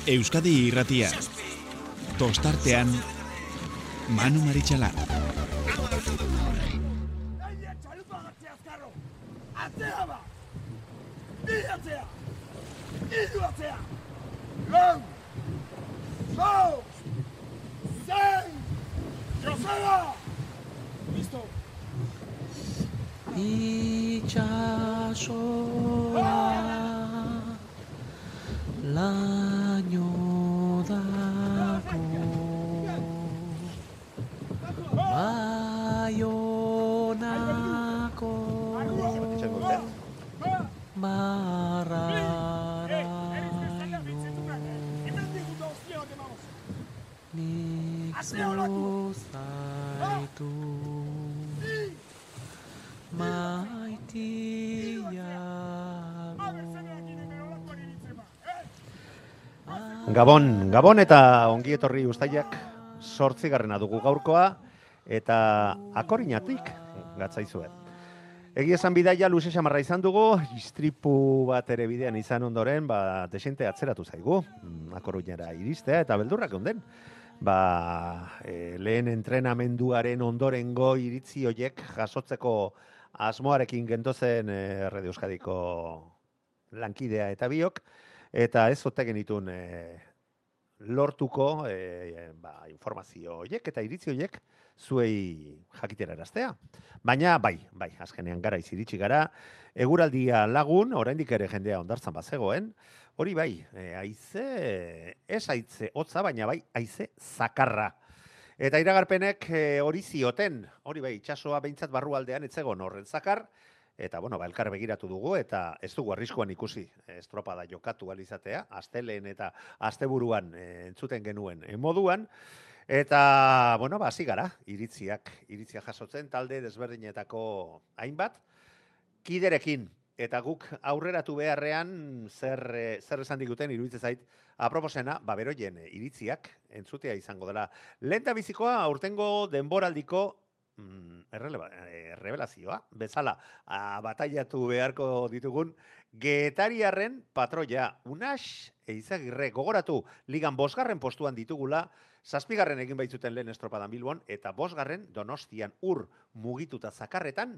Euskadi Irratia. Tostartean Manu Maritxalar. Laino dako Baionako Marraraino Nik zozaitu Gabon eta ongi etorri uztailak 8. dugu gaurkoa eta akorinatik gatzaizue. Egia esan bidaia luze xamarra izan dugu, istripu bat ere bidean izan ondoren, desente atzeratu zaigu, Akoruñara iristea eta beldurrak onden. Lehen entrenamenduaren ondorengo iritzi hoiek jasotzeko asmoarekin gentozen Radio Euskadiko lankidea eta biok, eta ez ote genitun lortuko informazio horiek eta iritzi horiek zuei jakiteraraztea. Baina bai, azkenean garaiz iritsi gara, eguraldia lagun, oraindik ere jendea hondartzan bazegoen, hori bai, ez haize hotza, baina bai haize zakarra. Eta iragarpenek hori zioten, hori bai, itsasoa behintzat barrualdean etzegon horren zakar, eta, elkar begiratu dugu, eta ez dugu arriskuan ikusi estropada jokatu alizatea, astelehen eta asteburuan entzuten genuen moduan, eta, hasi gara, iritziak jasotzen, talde desberdinetako hainbat, kiderekin, eta guk aurreratu beharrean zer esan diguten iruditzen zait, aproposena, beroien iritziak entzutea izango dela. Lehendabizikoa aurtengo denboraldiko errebelazioa, bezala bataiatu beharko ditugun Getariarren patroia, Unax Eizagirre, gogoratu, ligan 5. postuan ditugula, 7. egin baitzuten lehen estropadan Bilbon, eta 5. Donostian mugituta zakarretan,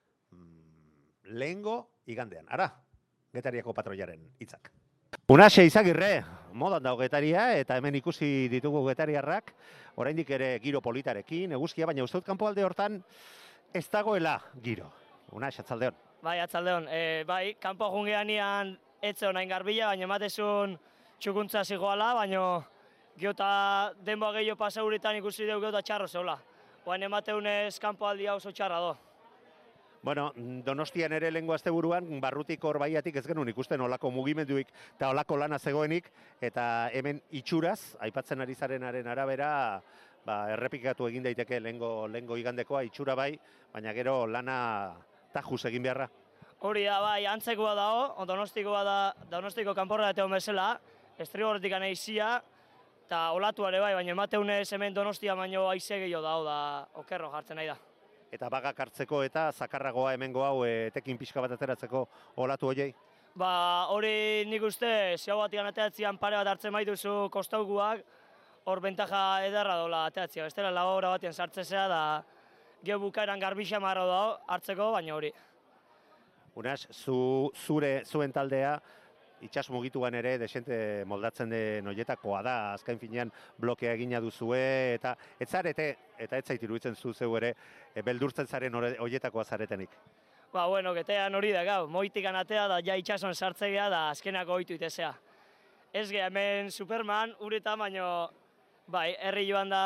lehengo igandean. Ara, Getariako patroiaren hitzak. Unax Eizagirre, modan dago Getaria, eta hemen ikusi ditugu getariarrak, oraindik ere giro politarekin, eguzkia, baina uste dut kanpoalde hortan ez dagoela giro. Unax, atzaldeon. Bai, atzaldeon. Kanpo jungeanian etze honain garbila, baina ematezun txukuntza zigoala, baina geota denboa gehiago pasauritan ikusi dugu geota txarro zeula. Oain emateunez kanpoaldia oso txarra do. Donostian ere lehengo asteburuan barrutik hor baiatik ez genuen ikusten olako mugimenduik eta olako lana zegoenik, eta hemen itxuraz, aipatzen ari zarenaren arabera, errepikatu egin daiteke lehengo igandekoa, itxura bai, baina gero lana tajuz egin beharra. Hori da, bai, antzekoa dago, Donostiko kanporra eteon bezala, estrigorretik aneizia, eta olatuare bai, baina emateunez hemen Donostia baino aize gehiago dago da okerro jartzen nahi da. Eta bagak hartzeko eta zakarragoa hemengo hau etekin pixka bat ateratzeko olatu hoiei? Hori nik uste, ziau batian ateatzean pare bat hartzen maituzu kostauguak, hor bentaja edarra dola ateatzea. Bestela lagora batian sartzezea da geho bukaeran garbixia marra dago hartzeko, baina hori. Unax, zuen taldea, itxas mugituan ere desente moldatzen den horietakoa da, azken finean blokea egina duzue, eta ez zarete, eta ez zait iruditzen zu zeu ere, beldurtzen zaren horietakoa zaretenik. Getean hori da, gau, moitikan atea da, ja itxason sartzea da, azkenako ohitu itezea. Ez ge, hemen Superman, uretan, baina, herri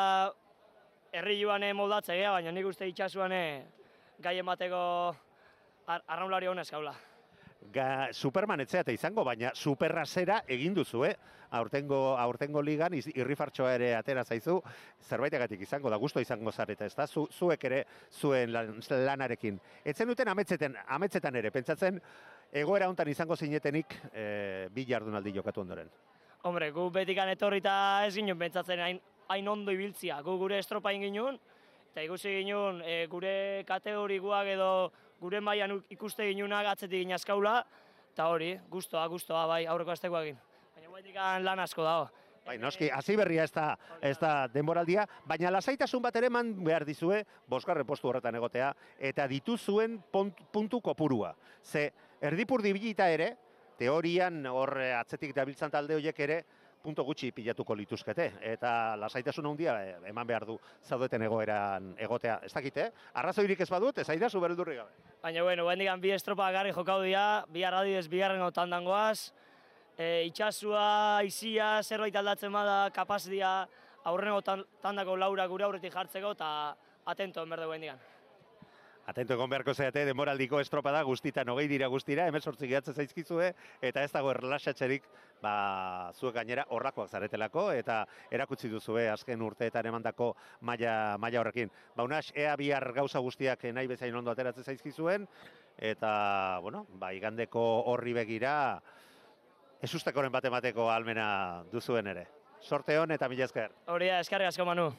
joan moldatzea, baina nik uste itxasuan gai emateko arraunlari honez gaula. Superman etzeate izango, baina superrazera egin duzu, aurtengo ligan irrifartxoa ere atera zaizu, zerbaitegatik izango da, gusto izango zareta, ez da, zuek ere zuen lanarekin. Etzen duten ametzetan ere, pentsatzen egoera hontan izango zinetenik 2 jardunaldi jokatu ondoren. Hombre, gu betikan etorrita ez ginen pentsatzen hain ondo ibiltzia, gu gure estropain ginen, eta ikusi ginen gure kategorikoak edo gure mailan ikuste ginunak atzetik ginazkaula, eta hori, gustoa bai, aurreko astekoak egin. Horregatik lan asko dago. Bai, noski, hasi berria ez da denboraldia, baina lasaitasun bat ere eman behar dizue, bosgarren postu horretan egotea, eta dituzuen puntu kopurua. Ze, erdipurdi bilita ere, teorian hor atzetik dabiltzan talde horiek ere, punto gutxi pilatuko lituzkete, eta lasaitasun handia eman behar du zaudeten egoeran egotea. Ez dakite, arrazoirik ez badut, ez aidazu bereldurri gabe. Baina, bueno, bendikan bi estropa garri jokau dira, bi arradidez bigarren gotan dangoaz, itxasua, izia, zerbait aldatzen bada, kapaz dira aurreneko tandako laura gure aurretik jartzeko, eta atento enberde bendikan. Atento egon beharko zeate, denboraldiko estropada guztitan, 20 dira guztira, 18 gehatzen zaizkizue, eta ez dago erlaxatzerik, zuek gainera horrakoak zaretelako, eta erakutsi duzue azken urteetan emandako maila horrekin. Unas, ea bihar gauza guztiak nahi bezain ondo ateratzen zaizkizuen, eta, bueno, igandeko horri begira, ezustekoren bat emateko almena duzuen ere. Sorte hon eta mila esker. Hori da, eskarrik asko, Manu.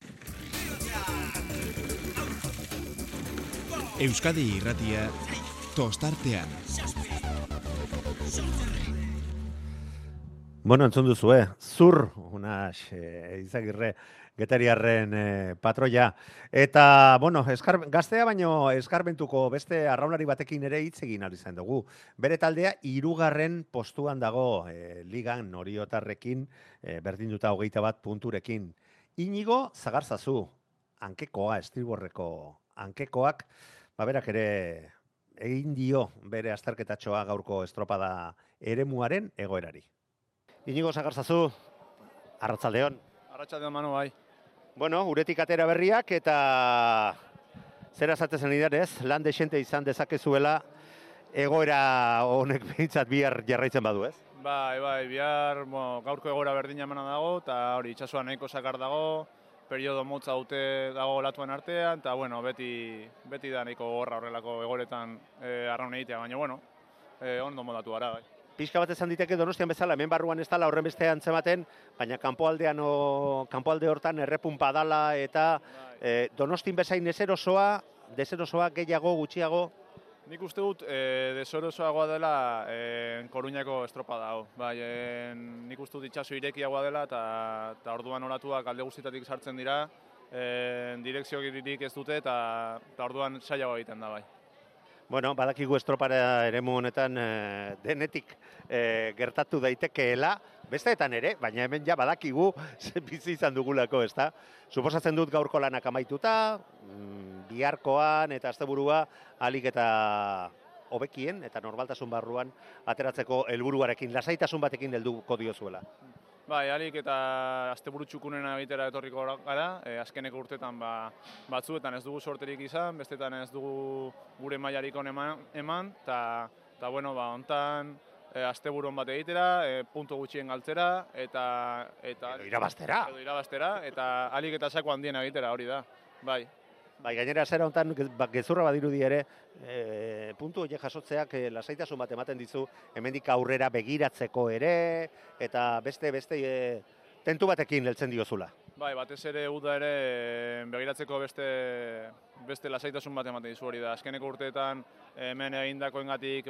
Euskadi Irratia, tostartean. Bueno, entzun duzue, zur, unas, Izagirre, Getariarren patroia. Eta, bueno, gaztea baino eskarmentuko beste arraunari batekin ere hitz egin ahal izan dugu. Bere taldea 3. postuan dago ligan Oriotarrekin, berdinduta 21 punturekin. Inigo Zagarzazu, hankekoa, estriborreko hankekoak, berak ere egin dio bere azterketatxoa gaurko estropada eremuaren egoerari. Inigo Zagarzazu, arratsaldeon. Arratsaldeon, Manu, bai. Bueno, uretik atera berriak eta zera zatezen idarez, lan desente izan dezakezuela egoera honek behintzat bihar jarraitzen badu, ez? Bai, bihar gaurko egoera berdina emana dago, eta hori itxasua nahiko sakar dago, periodo motza dute dago latuen artean, eta bueno, beti da nahiko gorra horrelako egoretan arraun egitea, baina bueno, ondo modatu gara, bai. Pixka bat esan diteke Donostian bezala, hemen barruan ez dala horren beste antzematen, baina kanpoalde hortan errepunpa dala eta Donostin bezain deserosoa gehiago, gutxiago? Nik uste dut deserosoagoa dela Koruñako estropada hau. Bai, nik uste dut itxaso irekiagoa dela eta orduan olatuak alde guztietatik sartzen dira, direkziorik ez dute eta orduan saiagoa egiten da, bai. Bueno, badakigu estropara eremu honetan denetik gertatu daitekeela, besteetan ere, baina hemen ja badakigu bizi izan dugulako, ezta? Suposatzen dut gaurko lanak amaituta, biharkoan eta asteburua ahalik eta hobekien eta normaltasun barruan ateratzeko helburuarekin, lasaitasun batekin helduko diozuela. Bai, ahalik eta asteburu txukunena egitera etorriko gara, azkeneko urtetan batzuetan ez dugu sorterik izan, bestetan ez dugu gure mailarik on eman, eta bueno, hontan asteburuan bat egitera, puntu gutxien galtzera, eta edo irabaztera, eta ahalik eta sako handien egitera, hori da, bai. Bai, gainera zera hontan gezurra badirudi ere, puntu horiek jasotzeak lasaitasun bat ematen dizu, hemendik aurrera begiratzeko ere, eta beste tentu batekin heltzen diozula. Bai, batez ere uda ere begiratzeko beste lasaitasun bat ematen dizu hori da. Azkeneko urteetan hemen egindakoengatik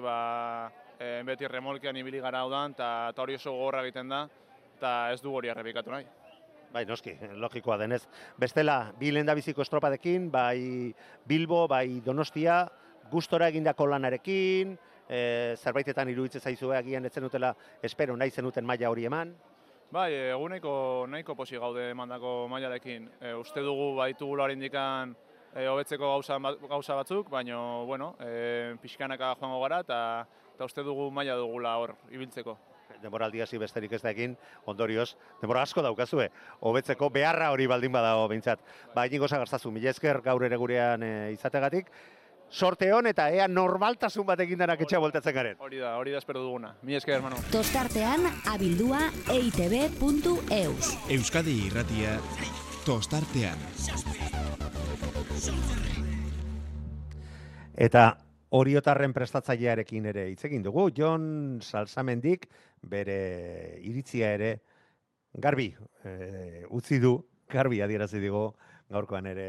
beti remolkean ibili gara udan, eta hori oso gogorra egiten da, eta ez du hori errepikatu nahi. Bai, noski, logikoa denez. Bestela, bi lehendabiziko estropadekin, bai Bilbo, bai Donostia, gustora egindako lanarekin, zerbaitetan iruditzen zaizue agian etzen dutela, espero nahi zenuten maila hori eman. Bai, eguneko nahiko posi gaude emandako mailarekin. Uste dugu baitugula horindikan hobetzeko gauza batzuk, baina, bueno, pixkanaka joango gara, eta uste dugu maila dugula hor ibiltzeko. Denboraldi hasi besterik ez da egin, ondorioz, denbora asko daukazue, hobetzeko beharra hori baldin badago behintzat. Inigo Zagarzazu, mila esker gaur ere gurean izategatik. Sorte hon eta ea normaltasun batekin denak etxea voltatzen garen. Hori da espero duguna. Mila esker, Manu. Tostartean abildua eitb.eus. Euskadi Irratia, tostartean. Eta Oriotarren prestatzailearekin ere hitz egin dugu, Jon Salsamendik bere iritzia ere garbi utzi du, garbi adierazi digu gaurkoan ere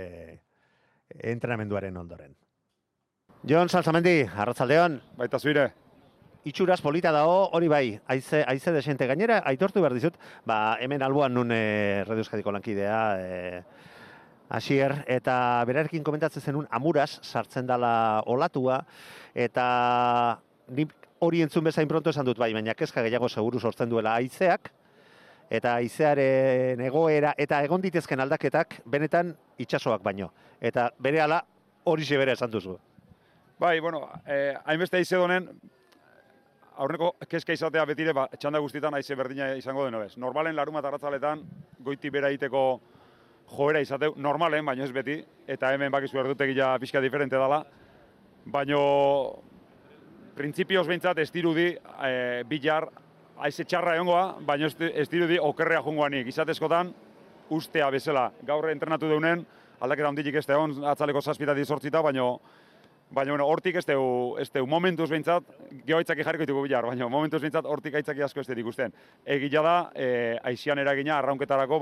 entrenamenduaren ondoren. Jon Salsamendi, arratsaldeon. Baita zuire. itxuraz polita dago, hori bai, haize desente gainera, aitortu behar dizut, hemen alboan nun Radio Euskadiko lankidea, Asier, eta berarekin komentatzen zenun amuraz sartzen dala olatua, eta ni hori entzun bezain pronto esan dut bai, baina kezka gehiago seguru sortzen duela haizeak, eta haizearen egoera eta egon ditezken aldaketak benetan itsasoak baino. Eta berehala horixe bere esan duzu. Bai, bueno, hainbeste haize donen, aurreko kezka izatea betire, txanda guztietan haize berdina izango deno bez. Normalen larunbat arratzaletan goiti bera egiteko joera izateu, normalen, baino ez beti, eta hemen bakizu erdutegia pixka diferente dela, baino printzipioz behintzat ez dirudi bilar haize txarra egongoa, baino ez dirudi okerrea jongoanik. Izatezkotan, ustea bezala. Gaur entrenatu deunen, aldaketa handilik ez egon, atzaleko 7 zortzita, baino hortik ez deu momentuz behintzat, geho aitzaki jarriko ditugu bilar, baina momentuz behintzat hortik aitzaki asko ez dut ikusten. Egia da, aizian eragina arraunketarako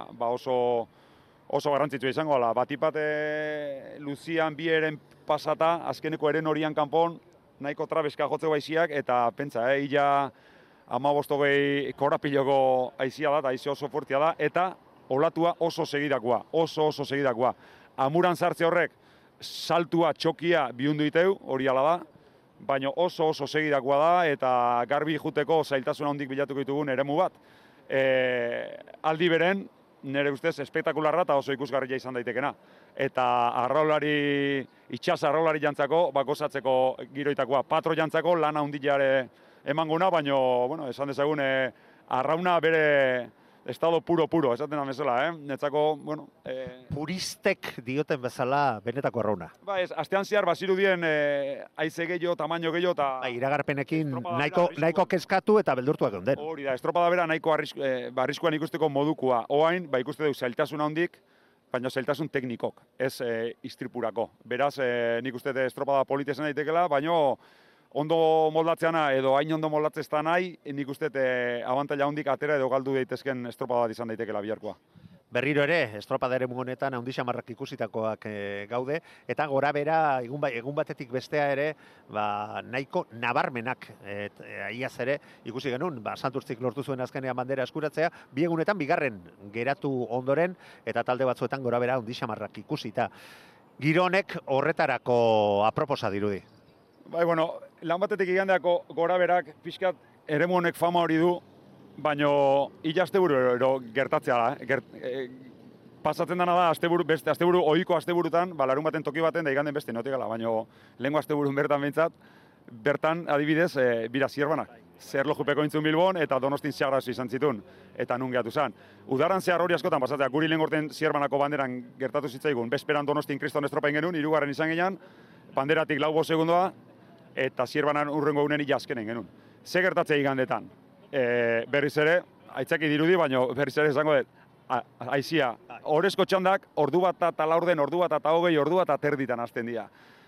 oso garrantzitsua izango ala. Batipat Luzian bi eren pasata, azkeneko eren horian kanpon, nahiko trabeska jotzeko aiziak, eta pentsa, illa 15-20 korapiloko aizia da, eta aizi oso fuertia da, eta olatua oso segidakoa, oso segidakoa. Amuran sartze horrek, saltua, txokia bihundu iteu, hori ala da, baina oso segidakoa da, eta garbi juteko zailtasuna hondik bilatuko ditugun eremu bat. Aldi beren, nire ustez, espektakularra eta oso ikusgarria izan daitekena. Eta itxas arraulari jantzako, gozatzeko giroitakoa. Patro jantzako lana hundiare emanguna, baina, esan dezagun, arrauna bere estado puro, esaten amezela, Netzako, Puristek dioten bezala benetako arrauna. Astean zehar, bazirudien haize gehiago, tamaino gehiago, eta... Iragarpenekin nahiko kezkatu eta beldurtuak geunden. Hori da, estropada bera nahiko arriskuan ikusteko modukoa. Oain, ikuste dugu zailtasun handik, baina zailtasun teknikok, ez istripurako. Beraz, nik uste estropada politesen daitekela, baina ondo moldatzeana edo hain ondo moldatzezta nahi, nik uste abantaila handik atera edo galdu daitezken estropada bat izan daitekela biharkoa. Berriro ere, estropada ere honetan handi xamarrak ikusitakoak gaude, eta gora bera egun batetik bestea ere nahiko nabarmenak aiaz ere ikusi genuen, Santurtzik lortu zuen azkenean bandera eskuratzea, bi egunetan bigarren geratu ondoren, eta talde batzuetan gora bera handi xamarrak ikusita. Gironek horretarako aproposa dirudi. Bai, lan batetik igandeako gora berak pixkat eremu honek fama hori du, baina illa asteburu gertatzea da. Pasatzen dena da, asteburu ohiko asteburutan, larun baten toki baten da iganden beste notikala, baina lehenko asteburun bertan behintzat, bertan adibidez, bira zierbanak. Zerlojupeko intzun Bilbon eta Donostin Seagrazu izan zitun, eta nun gehatu zen. Udaran zehar hori askotan pasatzea, guri lehen gorten zierbanako banderan gertatu zitzaigun, bezperan Donostin Kriston estropain genuen, 3. izan genean, banderatik 4 segundoa, eta zierbanan urrengo unen illa azkenen genuen. Ze gertatzea igandetan? Berriz ere, aitzaki dirudi, baina berriz ere esango dut, aizia, orezko txandak, ordu bat eta laurden, ordu bat eta hogei, ordu bat eta terditan hasten dira.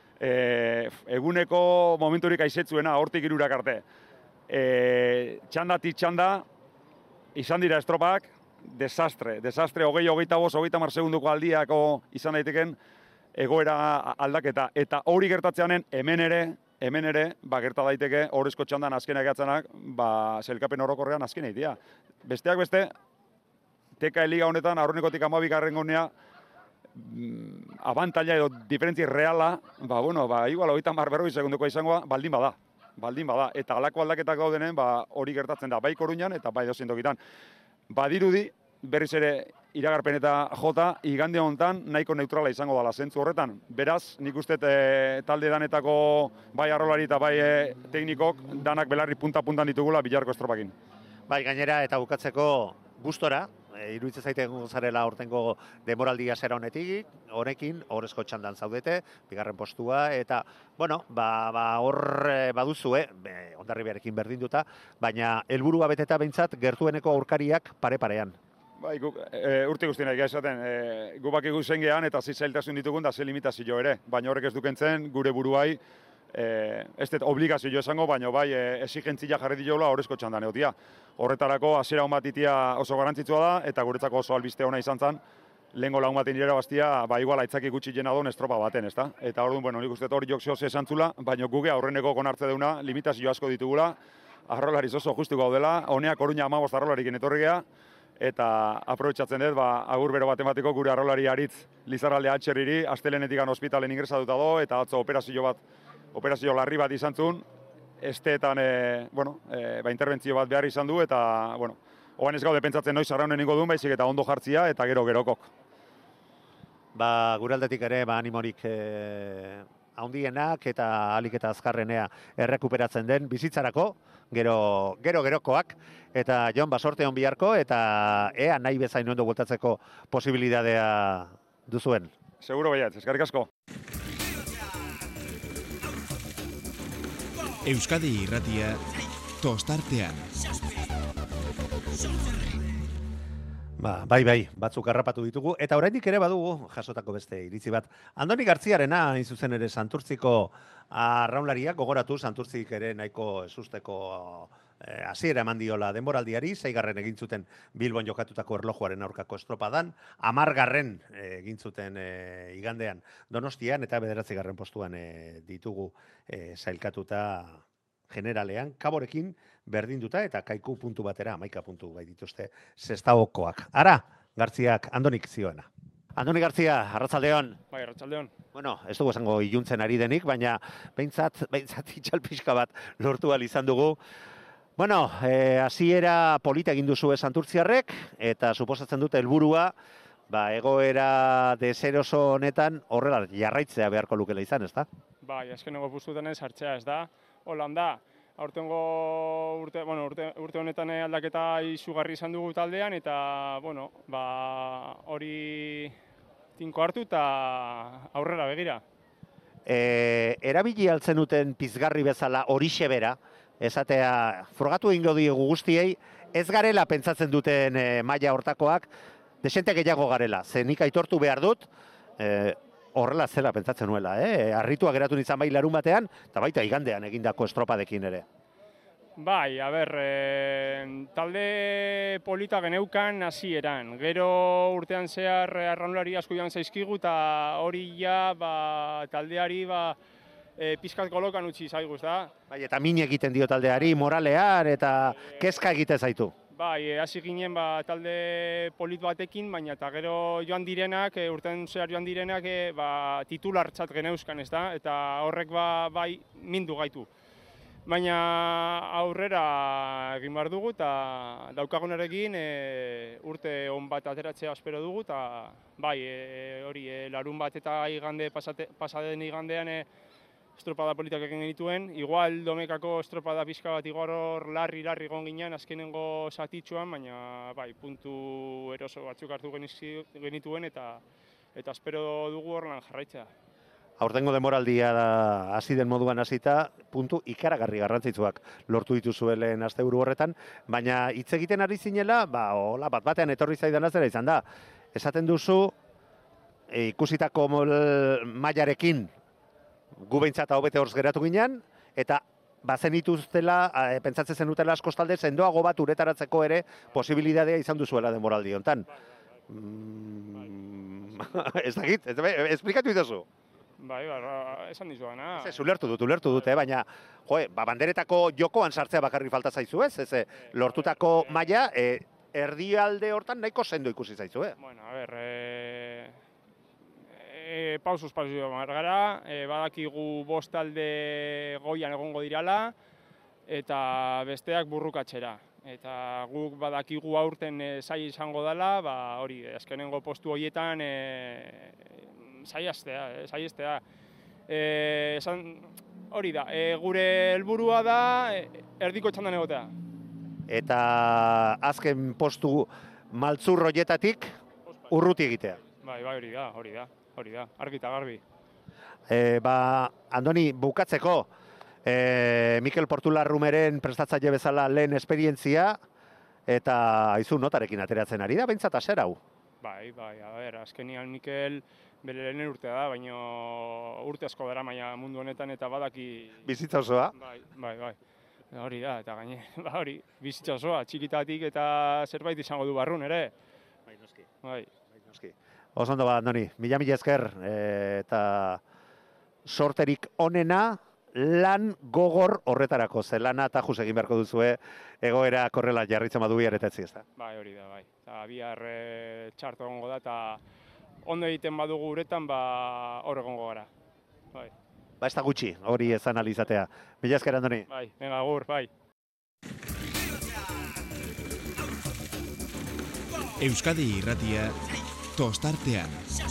Eguneko momenturik aizetzuena, hortik 3 arte. Txandatik txanda, izan dira estropak, desastre, 25-30 segunduko aldiako izan daiteken egoera aldaketa. Eta hori gertatzeanen hemen ere, gerta daiteke horrezko txandan azkenak gatzanak, zelkapen orokorrean azkenak dira. Besteak beste, TK Liga honetan, aurrenekotik 12. gunea, abantaila edo diferentzi reala, igual 30-40 segunduko izangoa, baldin bada. Eta halako aldaketak gaudenen, hori gertatzen da, bai Koruñan eta bai dozein tokitan. Badirudi, berriz ere iragarpen eta jota, igande honetan nahiko neutrala izango dela zentzu horretan. Beraz, nik uste talde danetako bai arrolari eta bai teknikok danak belarri punta-puntan ditugula bilarko estropakin. Bai, gainera eta bukatzeko gustora, iruditzen zaite egongo zarela hortengo demoraldia zera honekin, horrezko txandan zaudete, bigarren postua, eta, hor baduzue, Hondarribiarekin berdinduta, baina helburua beteta behintzat gertueneko aurkariak pare-parean. Bai, urte guztienak esaten, gu bakigu zen gehan eta zailtasun ditugun da ze limitazio ere, baina horrek ez dukentzen gure buruai, ez dut obligazio esango, baina bai exigentzia jarri diola horrezko txandan egotia. Horretarako hasiera on bat itia oso garrantzitsua da, eta guretzako oso albiste ona izan zen, lehengo lagun baten irabaztia, ba, igual aitzaki gutxi jena duen estropa baten, ezta? Eta orduan, bueno, nik uste hori jokzio esan zula, baina guge aurreneko konartze deuna, limitazio asko ditugula, arrolariz oso justuko gaudela, honeak Oruña 15 arrolarikin etorri gea, eta aprobetxatzen dut, ba, agur bero bat emateko gure arrolari aritz Lizarralde atxerriri, asteleenetikan ospitalen ingresatuta do, eta atzo operazio larri bat izan zuen, esteetan, ba, interbentzio bat behar izan du, eta, bueno, hogan ez gaude pentsatzen noiz arraunen ingo duen, baizik eta ondo jartzia, eta gerokok. Ba, gure aldetik ere, ba, animorik haundienak eta alik eta azkarrenea errekuperatzen den bizitzarako, gerokoak, eta Jon, basorte hon biharko, eta ea nahi bezain ondo bultatzeko posibilidadea duzuen. Seguro baiat, eskerrik asko. Euskadi Irratia tostartean. Bai, batzuk harrapatu ditugu, eta oraindik ere badugu jasotako beste iritzi bat. Andoni Gartziarena, hain zuzen ere, Santurtziko arraunlariak gogoratu, Santurtzik ere nahiko esusteko hasiera eman diola denboraldiari, 6. egin zuten Bilbon jokatutako erlojuaren aurkako estropadan, 10. egin zuten igandean Donostian, eta 9. postuan ditugu sailkatuta generalean, Kaborekin berdinduta eta Kaiku puntu batera, 11 puntu bai dituzte Sestaokoak. Ara, Gartziak, Andonik zioena. Andoni Gartzia, arratsaldeon. Bai, arratsaldeon. Bueno, ez dugu esango iluntzen ari denik, baina behintzat itxalpixka bat lortu ahal izan dugu. Bueno, hasiera polita egin duzu Santurtziarrek, eta suposatzen dute helburua, egoera deseroso honetan horrela jarraitzea beharko lukela izan, ezta? Bai, azkeneko postuetan sartzea, ez da. Holan da. Aurtengo urte honetan aldaketa izugarri izan dugu taldean, eta hori tinko hartu eta aurrera begira. Erabili altzen duten pizgarri bezala horixe bera, esatea frogatu egingo diegu guztiei, ez garela pentsatzen duten maila hortakoak, desente gehiago garela. Ze nik aitortu behar dut, horrela zela pentsatzen nuela, harritua geratu nintzen bai larun batean, eta baita igandean egindako estropadekin ere. Bai, talde polita geneukan hasieran. Gero urtean zehar arraunlari asko joan zaizkigu, eta hori ja taldeari pizkat kolokan utzi zaigu, ez da? Bai, eta min egiten dio taldeari, moralean, eta kezka egiten zaitu. Bai, hasi ginen talde polit batekin, baina eta gero joan direnak, urtean zehar joan direnak, titulartzat geneuzkan, ez da? Eta horrek bai mindu gaitu. Baina aurrera egin behar dugu, eta daukagunarekin urte on bat ateratzea espero dugu, eta bai, hori, larun bat eta pasaden igandean estropada politak egin genituen. Igual domekako estropada pixka bat igual hor larri egon ginen azkenengo zatitxuan, baina bai, puntu eroso batzuk hartu genituen, eta espero dugu horrelan jarraitzea. Aurtengo denboraldia hasi den moduan hasita, puntu ikaragarri garrantzitsuak lortu dituzu lehen asteburu horretan, baina hitz egiten ari zinela, hola bat-batean etorri zaidan azera izan da. Esaten duzu, ikusitako mailarekin gu behintzat hobete horz geratu ginen, eta bazen ituztela, pentsatzen zenutela askoz talde, sendoago bat uretaratzeko ere posibilitatea izan duzuela denboraldi hontan. Ez dakit, esplikatu ituzu. Bai, esan dizuana. Ulertu dut, baina banderetako jokoan sartzea bakarri falta zaizu ez? Lortutako maila, erdialde hortan nahiko sendo ikusi zaizu, Bueno, pausuz gara, badakigu 5 talde goian egongo dirala, eta besteak burrukatzera. Eta guk badakigu aurten zai izango dela, hori, azkenengo postu horietan saiestea. Hori da, gure helburua da erdiko txandan egotea. Eta azken postu maltzur horietatik urruti egitea. Bai, hori da, argi eta garbi. Andoni, bukatzeko, Mikel Portularrumeren prestatzaile bezala lehen esperientzia, eta aizu notarekin ateratzen ari da, behintzat aser hau. Bai, azkenian Mikel bere lehen urtea da, baina urte asko dara maia mundu honetan eta badaki... Bizitza osoa? Bai. Hori da, eta gaine, bizitza osoa, txikitatik eta zerbait izango du barrun ere. Bai, noski. Bai. Oso ondo Andoni, mila esker, eta sorterik onena, lan gogor horretarako, ze lana tajuz egin beharko duzue, egoera korrela jarritzen badu bihar eta etzi, ezta? Bai, hori da, bai. Eta bihar txarto egongo da, eta ondo egiten badugu uretan, hor egongo gara. Bai. Ez da gutxi, hori ez analizatea. Mila esker, Andoni. Bai, venga, agur, bai. Euskadi Irratia tostartean.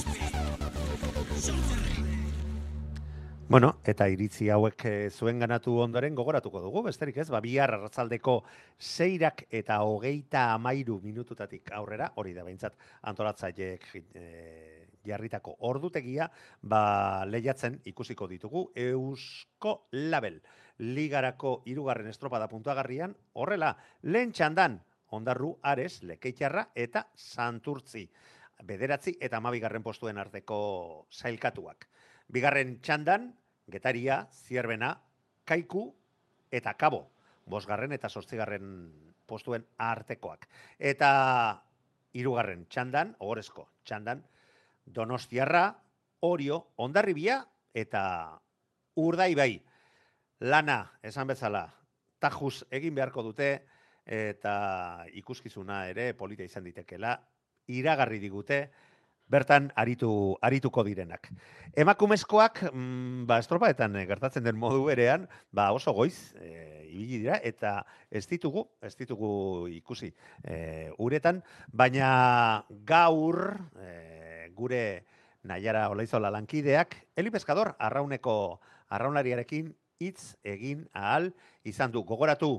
Bueno, eta iritzi hauek zuen ganatu ondoren gogoratuko dugu, besterik ez, bihar arratsaldeko 6 eta 33 minututatik aurrera, hori da behintzat antolatzaileek jarritako ordutegia, lehiatzen ikusiko ditugu Eusko Label ligarako 3. estropada puntuagarrian, horrela, lehen txandan, Ondarru, Ares, Lekeitiarra eta Santurtzi. 9 eta 12 postuen arteko sailkatuak. Bigarren txandan, Getaria, Zierbena, Kaiku eta Kabo. 5. eta 8. postuen artekoak. Eta 3. txandan, ohorezko txandan, Donostiarra, Orio, Hondarribia eta Urdaibai. Lana, esan bezala, tajuz egin beharko dute, eta ikuskizuna ere polita izan ditekela, iragarri digute, bertan arituko direnak. Emakumezkoak, estropaetan gertatzen den modu berean, oso goiz ibili dira, eta ez ditugu ikusi uretan, baina gaur gure Naiara Olaizola lankideak, Eli Pescador arraunlariarekin hitz egin ahal izan du. Gogoratu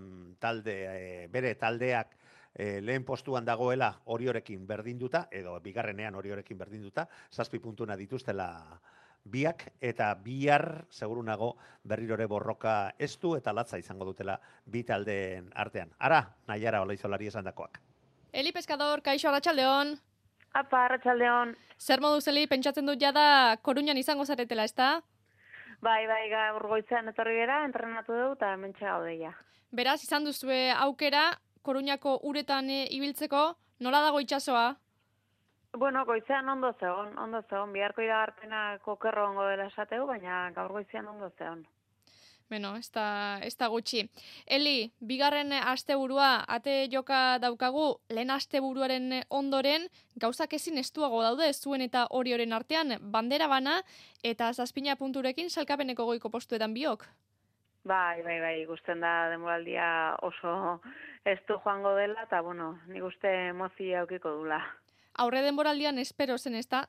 bere taldeak lehen postuan dagoela Oriorekin berdinduta, edo bigarrenean Oriorekin berdinduta, 7 puntuna dituztela biak, eta bihar seguru nago berrirore borroka estu eta latza izango dutela bi taldeen artean. Ara, Naiara Olaizolari esandakoak. Eli Pescador, kaixo, arratsaldeon. Apa, arratsaldeon. Zer moduz, Eli, pentsatzen dut jada Koruñan izango zaretela, ezta? Bai, gaur goizean etorri gara, entrenatu dugu eta hementxe gaude ja. Beraz, izan duzue aukera Koruñako uretan ibiltzeko, nola dago itsasoa? Bueno, goizean ondo zegoen, biharko iragarpenak okerro ongo dela esateu, baina gaur goizean ondo zegoen. Beno, ez da gutxi. Eli, bigarren asteburua ate joka daukagu, lehen asteburuaren ondoren, gauzak ezin estuago daude zuen eta Orioren artean, bandera bana eta 7 punturekin sailkapeneko goiko postuetan biok. Bai, ikusten da denboraldia oso estu joango dela, eta nik uste emozia aukiko dula. Aurre denboraldian espero zen, ezta,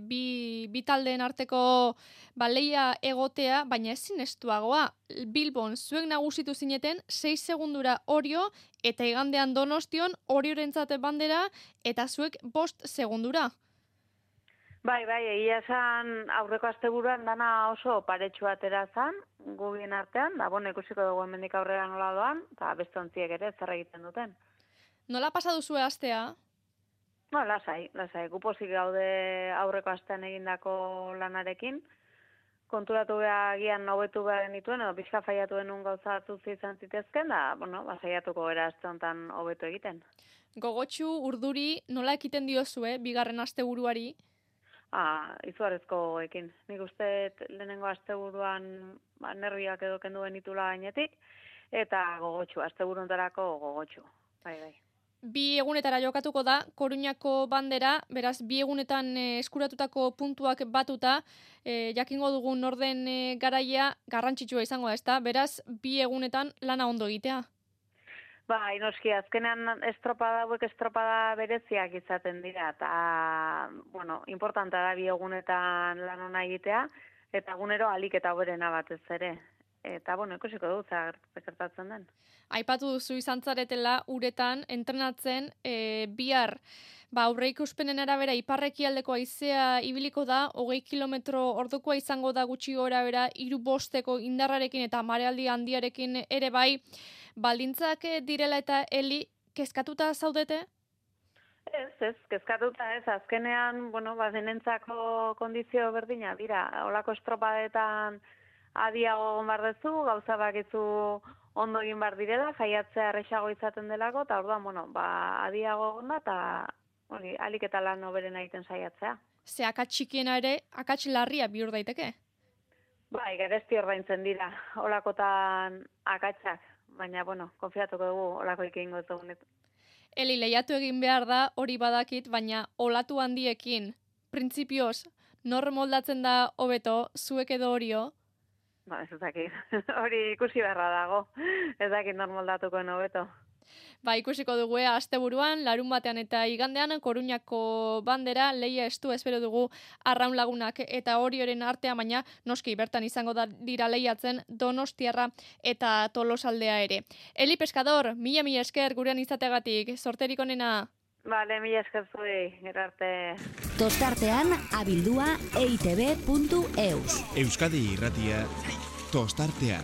bi taldeen arteko leia egotea, baina ezin estuagoa. Bilbon zuek nagusitu zineten 6 segundura Orio, eta igandean Donostion Oriorentzat bandera, eta zuek 5 segundura. Bai, egia esan aurreko asteburuan dana oso paretsu atera zan, gubien artean, da ikusiko dugu hemendik aurrera nola doan, eta beste ontziek ere zer egiten duten. Nola pasa duzue astea? Lasai, gupozik gaude aurreko astean egindako lanarekin, konturatu behar gian hobetu behar genituen, edo pixka faiatu denun gauza batzu izan zitezken, da, saiatuko gara aste honetan hobetu egiten. Gogotsu, urduri, nola ekiten diozue, bigarren asteburuari? Izugarrizko ekin. Nik uste lehenengo asteburuan nerviak edo kendu genitula gainetik, eta gogotsu, asteburuntarako gogotsu. Bai. 2 egunetara jokatuko da, Koruñako bandera, beraz 2 egunetan eskuratutako puntuak batuta, jakingo dugun orden garaia garrantzitsua izango da, ezta? Beraz, 2 egunetan lana ondo egitea. Bai, noski, azkenean estropada bereziak izaten dira, eta, importanta da 2 egunetan lan ona egitea, eta egunero alik eta hoberena batez ere. Eta, ikusiko du, gertatzen den. Aipatu duzu izan zaretela uretan, entrenatzen, bihar, aurreikuspenen arabera, iparrekialdeko haizea ibiliko da, 20 kilometro ordukoa izango da gutxi gora bera, 3-5 indarrarekin eta marealdi handiarekin ere bai, baldintzak direla eta Eli, kezkatuta zaudete? Ez, kezkatuta ez, azkenean, denentzako kondizio berdina dira, olako estropadetan adiago bardezu, gauza bakizu ondo egin bar direla, jaiatzea erresago izaten delako, eta orduan, adiago onda, eta hori, alik eta lan hoberen egiten saiatzea. Ze akats txikiena ere, akats larria bihur daiteke. Bai, garesti ordaintzen dira, olakotan akatsak, baina, bueno, konfiatuko dugu olako egingo ez dugunet. Eli, lehiatu egin behar da, hori badakit, baina olatu handiekin, printzipioz, nor moldatzen da hobeto, zuek edo Orio? Ba, ez dakit, hori ikusi beharra dago, ez dakit nor moldatukoen hobeto. Ba, ikusiko dugu asteburuan, larun batean eta igandean, Koruñako bandera, lehia estu espero dugu Arraun Lagunak eta Orioren artea, baina noski bertan izango dira lehiatzen Donostiarra eta Tolosaldea ere. Eli Pescador, mila esker gurean izategatik, sorterik onena. Vale, mila esker zuei, gero arte. Tostartean abildua eitb.eus. Euskadi Irratia, Tostartean.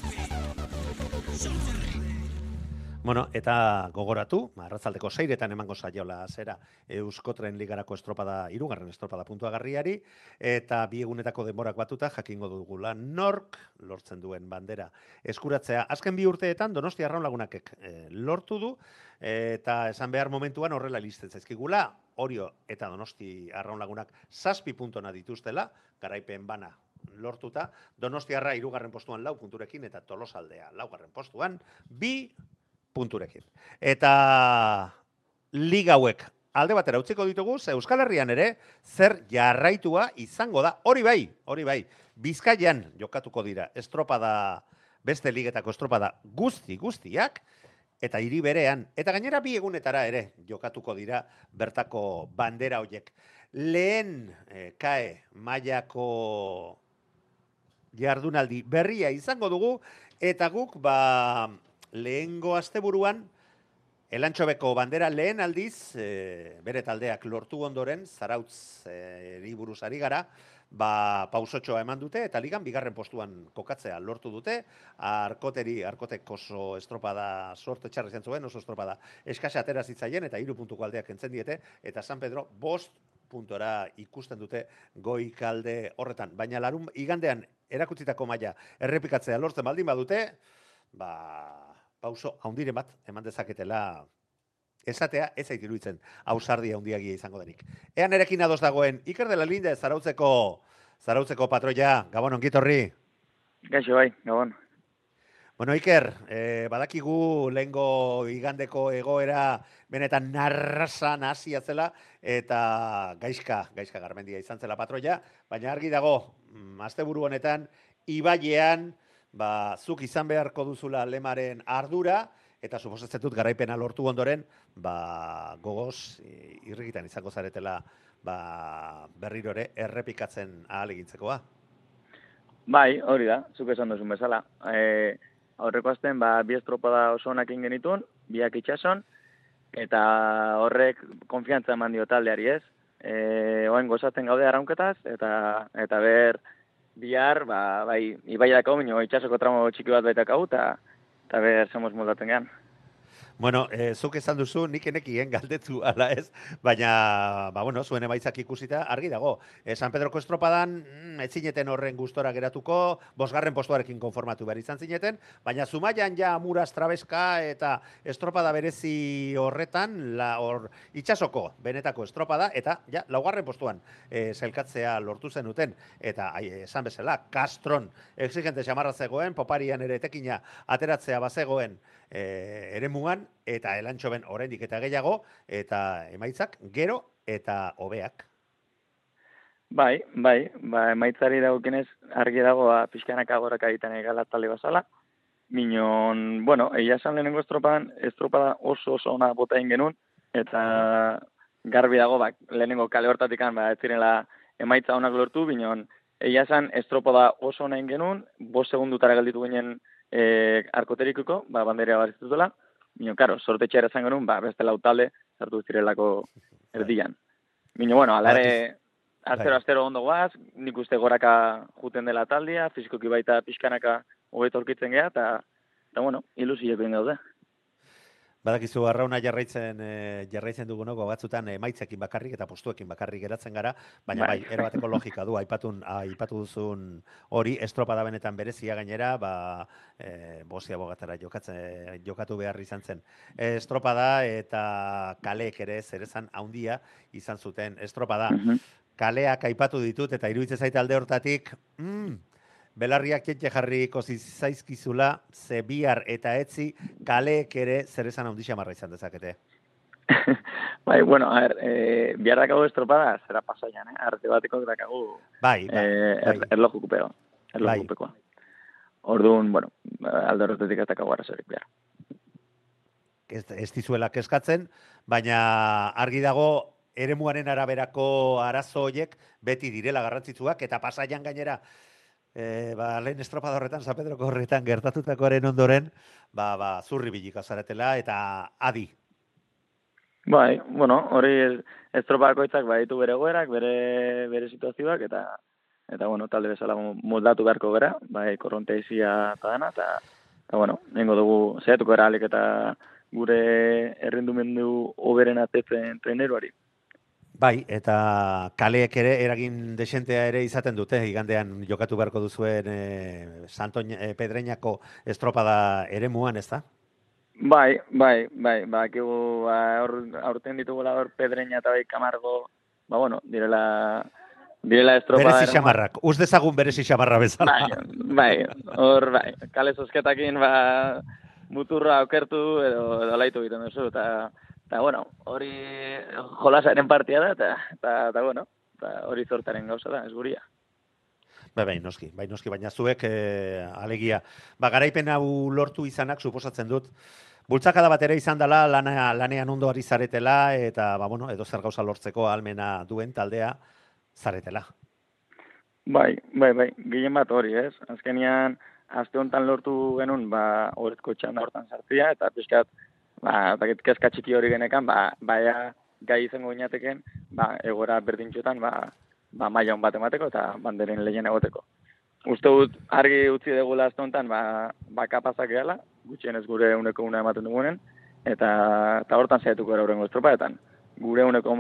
Bueno, eta gogoratu, arratzaldeko 6etan emango saiola zera Euskotren Ligarako estropada, 3. estropada puntuagarriari, eta bi egunetako denborak batuta jakingo dugula nork lortzen duen bandera eskuratzea. Azken 2 urteetan Donostia Arraun Lagunakek lortu du, eta esan behar momentuan horrela listen zaizkigula, Orio eta Donosti Arraun Lagunak 7 puntona dituztela, garaipen bana lortuta, Donostiarra 3. postuan 4 punturekin, eta Tolosaldea 4. postuan 2 punturekin. Eta liga hauek alde batera utziko ditugu, ze Euskal Herrian ere zer jarraitua izango da. Hori bai, Bizkaian jokatuko dira estropada, beste ligetako estropada guztiak, eta hiri berean, eta gainera 2 egunetara ere jokatuko dira bertako bandera hoiek. Lehen KAE mailako jardunaldi berria izango dugu, eta guk lehengo asteburuan Elantxobeko bandera lehen aldiz bere taldeak lortu ondoren, Zarautz buruz ari gara, pausotxoa eman dute, eta ligan 2. postuan kokatzea lortu dute. Arkotek oso estropada sorte txarri zen zuen, oso estropada eskasa atera zitzaien, eta 3 puntuko aldeak entzen diete, eta San Pedro 5 puntora ikusten dute goikalde horretan. Baina igandean erakutsitako maila errepikatzea lortzen baldin badute, pauso haundiren bat eman dezaketela esatea, ez zait iruditzen ausardia handiagia izango denik. Ean erekin ados dagoen Iker de la Linde, Zarautzeko patroia, Gabon, ongitorri. Gaixo bai, Gabon. Bueno, Iker, badakigu lehengo igandeko egoera benetan narrasan hasia zela, eta gaizka Garmendia izan zela patroia, baina argi dago, asteburu honetan, ibailean, zuk izan beharko duzula lemaren ardura, eta suposatzen dut garaipena lortu ondoren, gogoz irrikitan izango zaretela berriro ere errepikatzen ahal egintzekoa. Bai, hori da, zuk esan duzun bezala. Aurreko astean 2 estropada oso onak egin genituen, 2 itsason, eta horrek konfiantza eman dio taldeari ez. Oain gozatzen gaude arraunketaz, eta bihar, bai, ibaiako minio, itxasoko tramo txiki bat baitakau, eta ber, somos moldaten gehan. Bueno, zuk esan duzu, nik enekien galdetu ala ez, baina, zuen emaitzak ikusita, argi dago. San Pedroko estropadan, ez zineten horren gustora geratuko, 5. postuarekin konformatu behar izan zineten, baina Zumaian ja Muraz, Trabeska eta estropada berezi horretan, itxasoko benetako estropada, eta ja, 4. postuan zelkatzea lortu zenuten, eta esan bezala, Kastron exigente xamarra zegoen, Poparian ere etekina ateratzea bazegoen eremugan, eta Elantxoben oraindik eta gehiago, eta emaitzak gero eta hobeak. Bai, emaitzari dagokenez argi dago pixkanaka goraka egiten egala talde bazala. Minon, egia esan lehenengo estropada oso ona bota egin genuen, eta garbi dago lehenengo kale hortatik ez zirela emaitza onak lortu, minon, egia esan estropada oso ona egin genuen, 5 segundutara gelditu ginen arkoterikuko, bandera bariztutela, mino, karo, sorte txera zan genuen, beste 4 talde sartu zirelako erdian. Mino, alare, astero ondo guaz, nik uste goraka juten dela taldea, fizikoki baita pixkanaka hobeto aurkitzen geha, eta ilusiek egin gaude. Badakizu arrauna jarraitzen dugunoko batzutan emaitzekin bakarrik eta postuekin bakarrik geratzen gara, baina bai, erabateko logika du, aipatu duzun hori, estropada benetan berezia gainera, Bosia Bogatara jokatu behar izan zen. Estropada eta kaleek ere zerezan handia izan zuten estropada. Kaleak aipatu ditut eta iruditzen zait alde hortatik, belarriak jente jarriko zaizkizula, ze bihar eta etzi kaleek ere zer esan handi xamarra izan dezakete. Bai, bueno, a ver, bihar dakagu estropada, zera pasaian, arte bateko dakagu erlojukupekoa. Orduan, bueno, alde horretatik ez dakagu arazorik bihar. Ez dizuela keskatzen, baina argi dago eremuaren araberako arazo horiek beti direla garrantzitsuak, eta pasaian gainera lehen estropada horretan, San Pedroko horretan gertatutakoaren ondoren, zurri bilika zaretela eta adi. Bai, bueno, hori estropakoitzak baditu bere goerak, bere situazioak, eta bueno, talde bezala moldatu beharko gara, bai, korronteizia eta dana, eta bueno, nengo dugu zehatuko era alik eta gure errendumendu hoberen atetzen treneroari. Bai, eta kaleek ere eragin desentea ere izaten dute, igandean jokatu beharko duzuen Pedreñako estropada eremuan, ez da? Bai, bakigu aurten ditugula hor Pedreña eta bai Camargo, bueno, direla estropada. Berezi xamarrak, uz dezagun berezi xamarra bezala. Bai, kale zozketakin muturra aukertu edo laitu egiten duzu, eta bueno, hori jolasaren partia da, eta bueno, hori zortaren gauza da, ez guria. Bai, noski, baina zuek alegia. Garaipen hau lortu izanak, suposatzen dut, bultzakada bat ere izan dela, lanean ondo ari zaretela, eta edo zer gauza lortzeko ahalmena duen taldea zaretela. Bai, gehien bat hori, ez? Azkenian, aste honetan lortu genuen, horretko txanda hortan sartzia, eta pixkat, kezka txiki hori genekan, baia gai izango ginateken, egora berdintxotan, maila hon bat emateko eta banderen lehien egoteko. Uste dut, argi utzi degula aste honetan, kapazak gehala, gutxienez gure uneko una ematen dugunen, eta hortan zaiatuko gara horrengo estropaetan. Gure uneko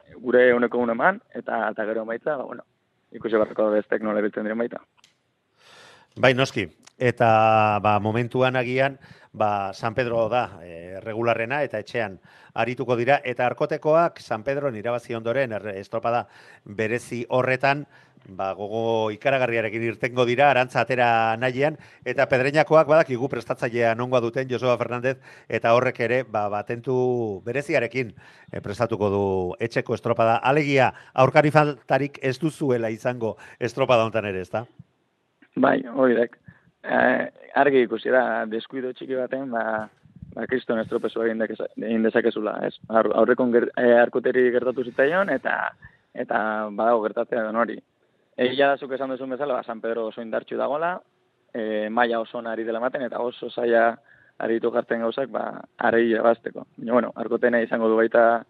una eman, eta gero maitza, ikusi barrako bestek nola biltzen diren baita. Bai, noski. Eta momentuan agian, San Pedro da regularrena eta etxean arituko dira. Eta arkotekoak San Pedro irabazi ondoren estropada berezi horretan, gogo ikaragarriarekin irtengo dira, arantza atera nahian, eta Pedreñakoak badakigu prestatzailea nongoa duten Joseba Fernández, eta horrek ere batentu bereziarekin prestatuko du etxeko estropada. Alegia, aurkari faltarik ez duzuela izango estropada hontan ere, ez da? Bai, hori dek. Argi ikusi da, deskuido txiki baten, kriston estropezoa egin dezakezula, ez? Aurrekon arkoteri gertatu zitzaion, eta badago gertatzea den hori. Egia da zuk esan duzun bezala, San Pedro oso indartxu dagoela, maila oso ari dela maten, eta oso zaila aritu jartzen gauzak, arei irabazteko. Bueno, arkotena izango du baita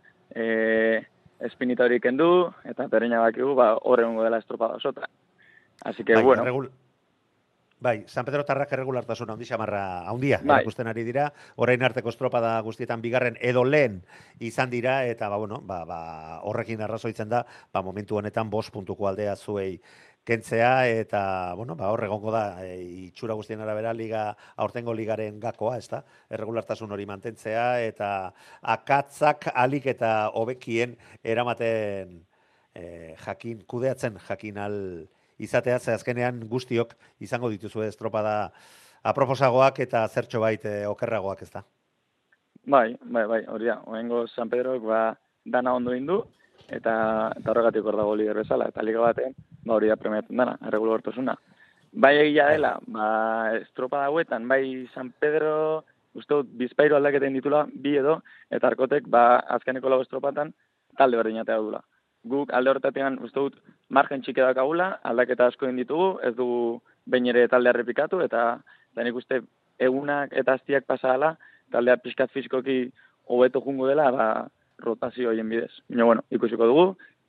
espinita hori kendu, eta Pedreña bakigu, horrengo dela estropada osota. Así que, bueno... Bai, San Pedro tarrak erregulartasuna handi xamarra handia erakusten ari dira, orain arteko estropada guztietan bigarren edo lehen izan dira, eta horrekin arrazoitzen da, momentu honetan 5 puntuko aldea zuei kentzea, eta hor egongo da, itxura guztien arabera aurtengo ligaren gakoa, ez da, erregulartasun hori mantentzea, eta akatzak alik eta hobekien eramaten kudeatzen jakin al izatea, ze azkenean guztiok izango dituzu estropada aproposagoak eta zertxo bait okerragoak, ez da? Bai, hori da. Oengo San Pedroek dana ondo indu, eta horregatik hor dago lider bezala, eta liga baten, hori da premiatzen dana, erregulartasuna. Bai egia dela, estropada hauetan, bai San Pedro, uste dut, bizpahiru aldaketen ditula, bi edo, eta arkotek, azkeneko lau estropatan, talde berdinatea dula. Guk alde horretatik uste dut margen txiki dakagula, aldaketa asko egin ditugu, ez dugu behin ere taldea errepikatu, eta nik uste egunak eta aztiak pasala, taldea pixkat fizikoki hobeto jungo dela, rotazio horien bidez. Baina, ikusiko dugu,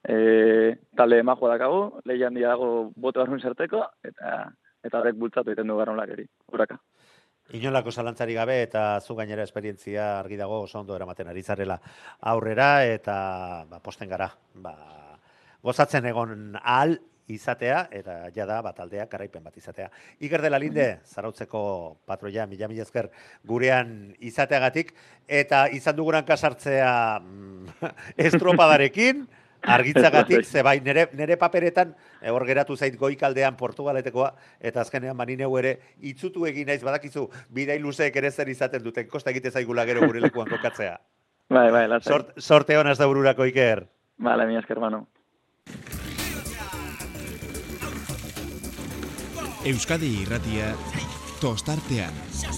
talde majoa dakagu, lehian dago boto barrun sarteko, eta horrek bultzatu egiten du garronlakeri, uraka. Inolako zalantzari gabe eta zu gainera esperientzia argi dago oso ondo eramaten ari zarela aurrera eta posten gara. Gozatzen egon ahal izatea eta jada taldeak garaipen bat izatea. Iker de la Linde, Zarautzeko patroia, mila esker gurean izateagatik eta izan duguran kasartzea estropadarekin, argitzagatik, ze bai, nire paperetan, hor geratu zait goikaldean Portugaletekoa, eta azkenean manineu ere itzutu egin naiz, badakizu, bidai luzeek ere zer izaten duten, kosta egite zaigula gero gure lekuan kokatzea. Bai, lasai. Sorte honaz da bururako, Iker. Vale, mila esker, mano. Euskadi Irratia, tostartean.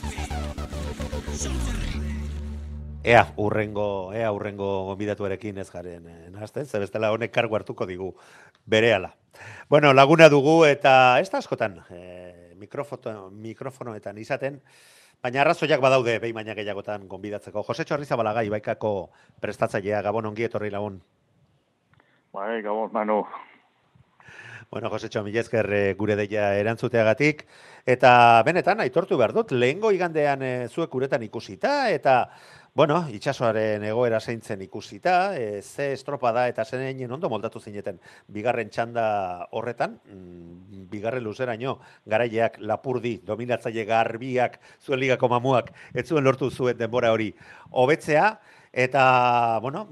Ea urrengo gonbidatuarekin ez garen nahazten, ze bestela honek kargu hartuko digu berehala. Bueno, laguna dugu eta ez da askotan mikrofonoetan izaten, baina arrazoiak badaude behin baina gehiagotan gonbidatzeko. Josetxo Arrizabalaga Ibaikako prestatzailea, Gabon, ongi etorri lagun. Bai, Gabon, Manu. Bueno, Josetxo, mila esker gure deia erantzuteagatik, eta benetan aitortu behar dut, lehengo igandean zuek uretan ikusita, eta bueno, itxasoaren egoera zeintzen ikusita, ze estropada eta zeinen ondo moldatu zineten bigarren txanda horretan, bigarren luzeraino, garaileak Lapurdi, dominatzaile garbiak, zuen ligako mamuak, ez zuen lortu zuen denbora hori hobetzea, eta, bueno,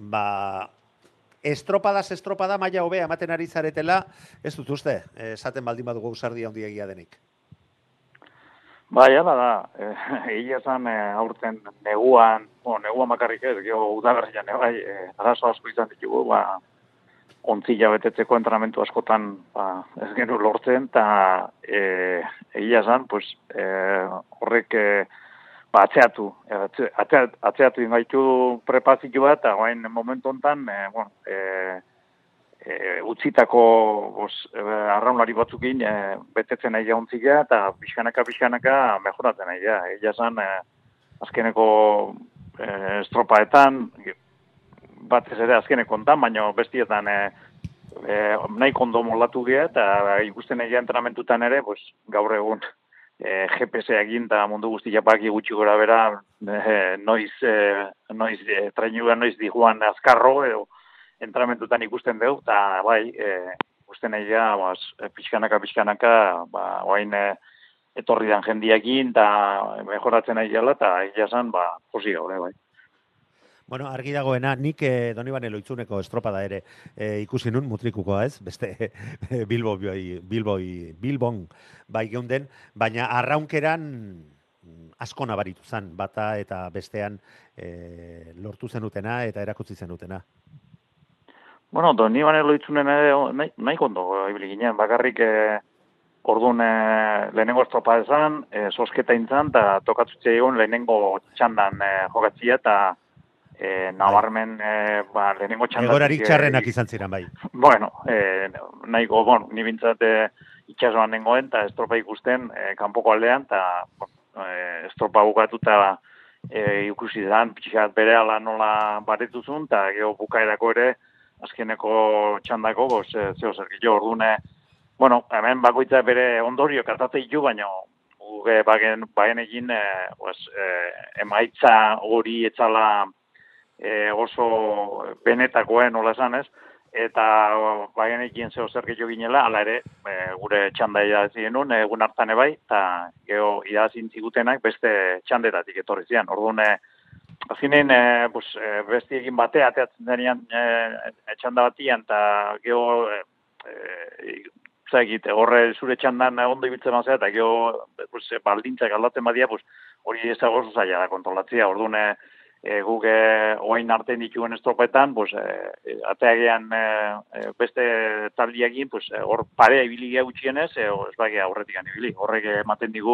estropada maila hobea ematen ari zaretela, ez dut uste, esaten baldin badugu ausardia handiegia denik. Bai, hala da, egia esan aurten neguan makarrik ez, geho udaberrian, bai, arazo asko izan ditugu, ontzila betetzeko entrenamentu askotan ez genu lortzen, eta egia esan, horrek atzeatu ingaitu prepazitu bat, eta guain momentu honetan, utzitako arraunlari batzukin betetzen nahi jauntzia eta pixkanaka mejoratzen nahi ja. Egia esan, azkeneko estropaetan, batez ere azkeneko ontan, baina bestietan nahi kondo moldatu gira eta ikusten nahi entrenamentutan ere, gaur egun GPS egin eta mundu guztia baki gutxi gora bera, noiz dijuan azkarro edo entramentutan ikusten dugu, eta bai, ikusten nahi pixkanaka, oain etorri dan jendiakin, eta mejoratzen nahi gala, eta egia esan, posi gaur, bai. Bueno, argi dagoena, nik Donibane Loitzuneko estropada ere ikusi nun, mutrikukoa ez, beste Bilbon bai geunden, baina arraunkeran asko nabaritu zen, bata eta bestean lortu zenutena eta erakutsi zenutena. Bueno, Donibane Loitzunen ere nahi kondo ibili ginen, bakarrik orduan lehenengo estropa ezan, sosketa intzan, eta tokatzutze egon lehenengo txandan jokatzia, eta nabarmen lehenengo txandan... Egorarik txarrenak izan ziren, bai. Bueno, ni bintzat itxasoan nengoen, eta estropa ikusten kanpoko aldean, eta estropa bukatu, eta ikusi dan, pixkat bere ala nola baretuzun, eta geho bukaerako ere, azkeneko txandako, zeo zerkillo, ordune, hemen bakoitza bere ondorio kartatzea ditu, baina bagen egin emaitza hori etzala oso benetakoen, nola esan ez, eta bagen egin zeo zerkillo ginela, ala ere, gure txanda idazi genuen, egun hartan ebai, eta geho idazin zigutenak beste txandetatik etorri zian, ordune, azkenean, besti egin batea, ateatzen denean txanda batian, eta geho, horre zure txandan ondo ibiltzen mazera, eta geho, baldintzak aldatzen badia, hori ezago oso zaila da kontrolatzea, orduan, guk oain artean dituen estropetan, ateagean beste taldiagin, hor parea ibili gea gutxienez, ez bagia horretik ibili, horrek ematen digu,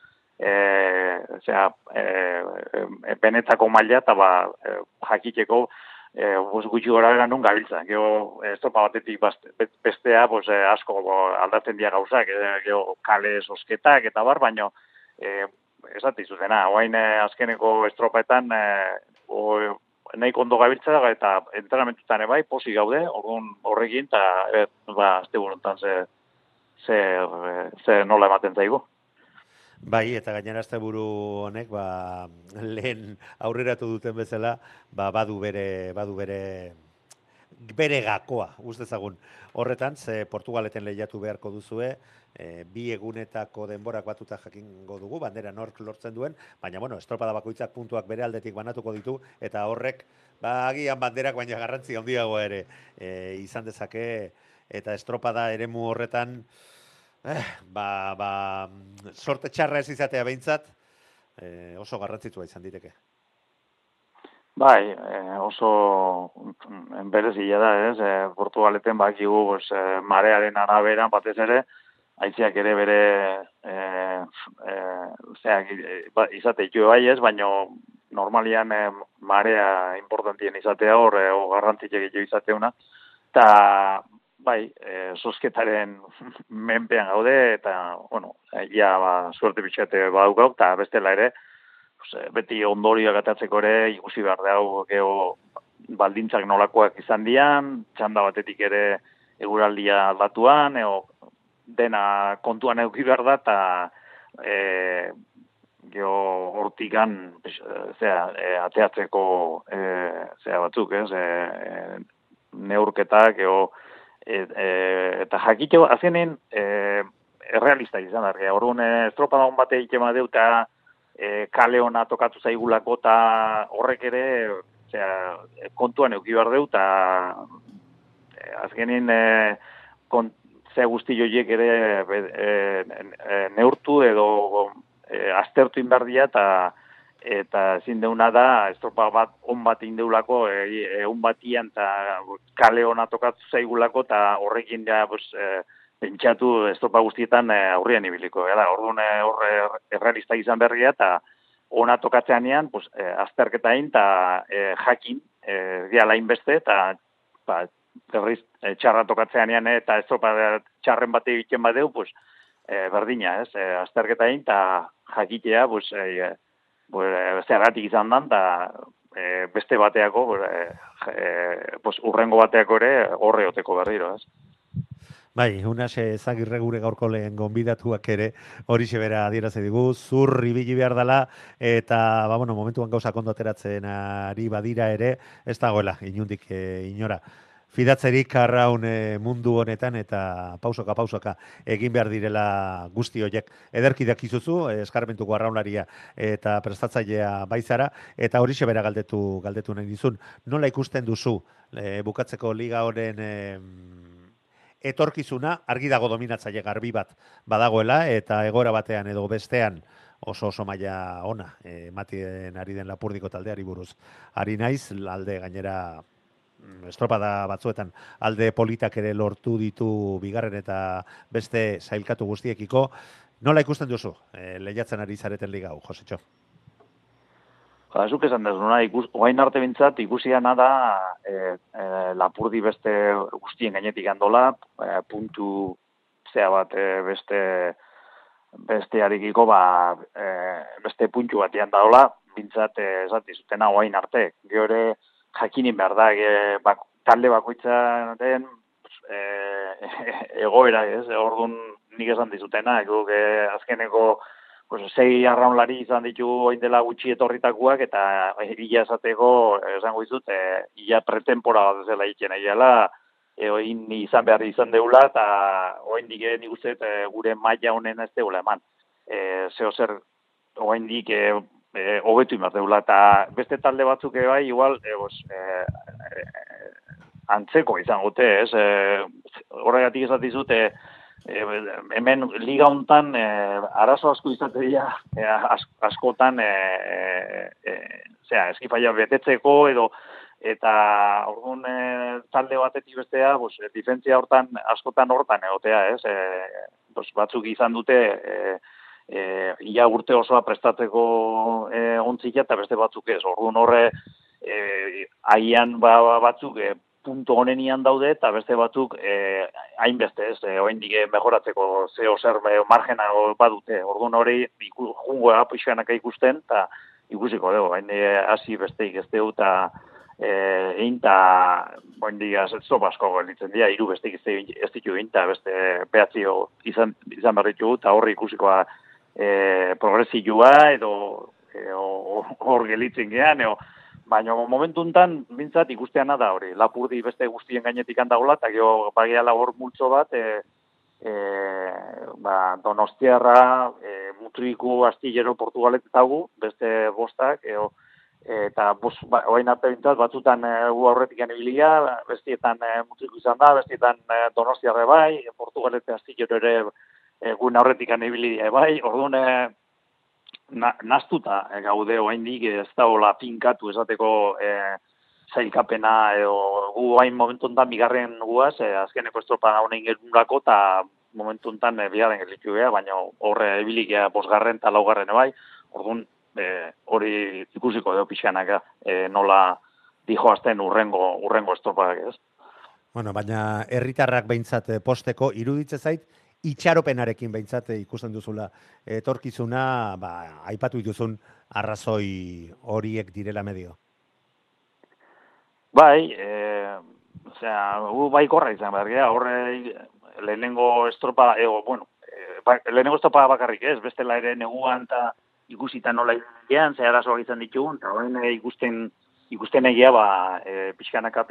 benetako maila eta jakiteko gutxi gora bera nun gabiltza. Gero estropa batetik bestea asko aldatzen dira gauzak, gero kale sosketak eta bar, baina esate izuzena, oain azkeneko estropaetan nahi kondo gabiltza eta entrenamentutan ebai, posi gaude, horrekin, eta azte buruntan ze nola ematen zaigu. Bai, eta gainera asteburu honek lehen aurreratu duten bezala, badu bere gakoa, dezagun. Horretan, ze Portugaleten lehiatu beharko duzue, 2 egunetako denborak batuta jakingo dugu, bandera nork lortzen duen, baina, estropada bakoitzak puntuak bere aldetik banatuko ditu, eta horrek, agian banderak, baina garrantzi handiago ere izan dezake, eta estropada eremu horretan, sorte txarra ez izatea behintzat, oso garrantzitsua izan diteke. Bai, oso berezia da, ez? Portugaleten bakigu marearen arabera batez ere, haizeak ere bere izate jo bai ez, baina normalian marea importantien izatea hor, garrantzitxek jo izateuna, eta bai, sosketaren menpean gaude, eta, suerte bitxate badaukau, eta bestela ere, beti ondorioak atatzeko ere ikusi behar dago geho baldintzak nolakoak izan dian, txanda batetik ere eguraldia aldatuan, dena kontuan eduki behar da, eta geho hortikan ateatzeko batzuk, neurketak, eta jakiteko, azkenean errealista izan da, orduan estropada hon bate egiten badeu, eta kale hona tokatu zaigulako, eta horrek ere kontuan eduki behar deu, eta azkenean ze guzti joiek ere neurtu edo aztertu inberdia, eta ezin deuna da estropa bat on bat indeulako egun batian eta kale hona tokatu zaigulako, eta horrekin pentsatu estropa guztietan aurrian ibiliko. Orduan errealista izan berria, eta ona tokatzeanean, azterketa egin, eta jakin, gehala inbeste, eta berriz txarra tokatzeanean, eta estropa txarren bat egiten badeu, berdina, azterketa egin, eta jakitea, zergatik izan dan, eta beste bateako, urrengo bateako ere horreoteko berriro, Bai, unas ezagirre gure gaurko lehen gonbidatuak ere horixe bera adierazi digu, zur ibili behar dela, eta momentuan gauza kondo ateratzen ari badira ere, ez dagoela, inundik inora. Fidatzerik arraun mundu honetan, eta pausoka egin behar direla guzti horiek. Ederki dakizuzu, eskarmentuko arraunlaria eta prestatzailea baizara, eta horixe bera galdetu nahi dizun. Nola ikusten duzu bukatzeko liga honen etorkizuna, argi dago dominatzaile garbi bat badagoela, eta egoera batean edo bestean oso maila ona ematien ari den Lapurdiko taldeari buruz. Ari naiz, alde gainera estropada batzuetan alde politak ere lortu ditu bigarren eta beste sailkatu guztiekiko. Nola ikusten duzu lehiatzen ari zareten liga hau, Josetxo? Zuk esan dezu, oain arte bintzat ikusiana da Lapurdi beste guztien gainetik handola, puntu bat beste harikiko beste puntu batean daola, bintzat esati zutena oain arte. Gehore jakinin behar da, talde bakoitza den egoera, orduan nik esan dizutena, azkeneko 6 arraunlari izan ditu oin dela gutxi etorritakuak, eta ia esateko, esango izut, ia pretempora bat ezela egiten egiala, oin izan behar izan deula, eta oin dik nik uste gure maila honen ez deula eman. Zeo zer, oin dik hobetu imar deula, eta beste talde batzuk bai, igual, antzeko izan gote, horregatik esatizute, hemen liga hontan arazo asko izate dira askotan eskifaia betetzeko eta orduan talde batetik bestea difentzia askotan hortan egotea, batzuk izan dute ia urte osoa prestatzeko ontzila eta beste batzuk ez. Orduan horre haian batzuk punto honenian daude, eta beste batzuk hainbeste ez, oraindik mejoratzeko zeo zer margena badute. Orduan hori jungoa pixkanaka ikusten, eta ikusiko dugu, hasi besteik ez dugu, eta egin, eta oraindik zopa asko gelditzen dira, 3 besteik ez ditu egin, eta beste behatzio izan behar ditugu, eta horri ikusikoa progresioa edo hor gelitzen gean, baina momentu enten, bintzat ikusteana da hori, Lapurdi beste guztien gainetik handagola, eta gero bagiala hor multzo bat, Donostiarra, Mutriku, Astillero, Portugalet eta beste bostak, eta oain arte bintzat, batzutan gu aurretik ibilia, bestietan Mutriku izan da, bestietan Donostiarra bai, Portugalet eta Astillero ere gun aurretik ibilia bai, orduan naztuta gaude oaindik ez da hola finkatu esateko zailkapena edo gu hain momentu enten bigarren guaz, azkeneko estropa honen gerunako eta momentu enten bigarren gelitu geha, baina horre ebilikea bosgarren eta laugarren bai, orduan hori ikusiko deo pixkanaka nola dijoazten urrengo estropak ez. Bueno, baina herritarrak behintzat posteko iruditze zait, itxaropenarekin behintzat ikusten duzula etorkizuna, aipatu dituzun arrazoi horiek direla medio. Bai, bai korra izan behar gea, horre lehenengo estropa, lehenengo estropa bakarrik ez, bestela ere neguan eta ikusita nola izan, ze arazoak izan ditugun, eta horren ikusten egia, pixkanaka,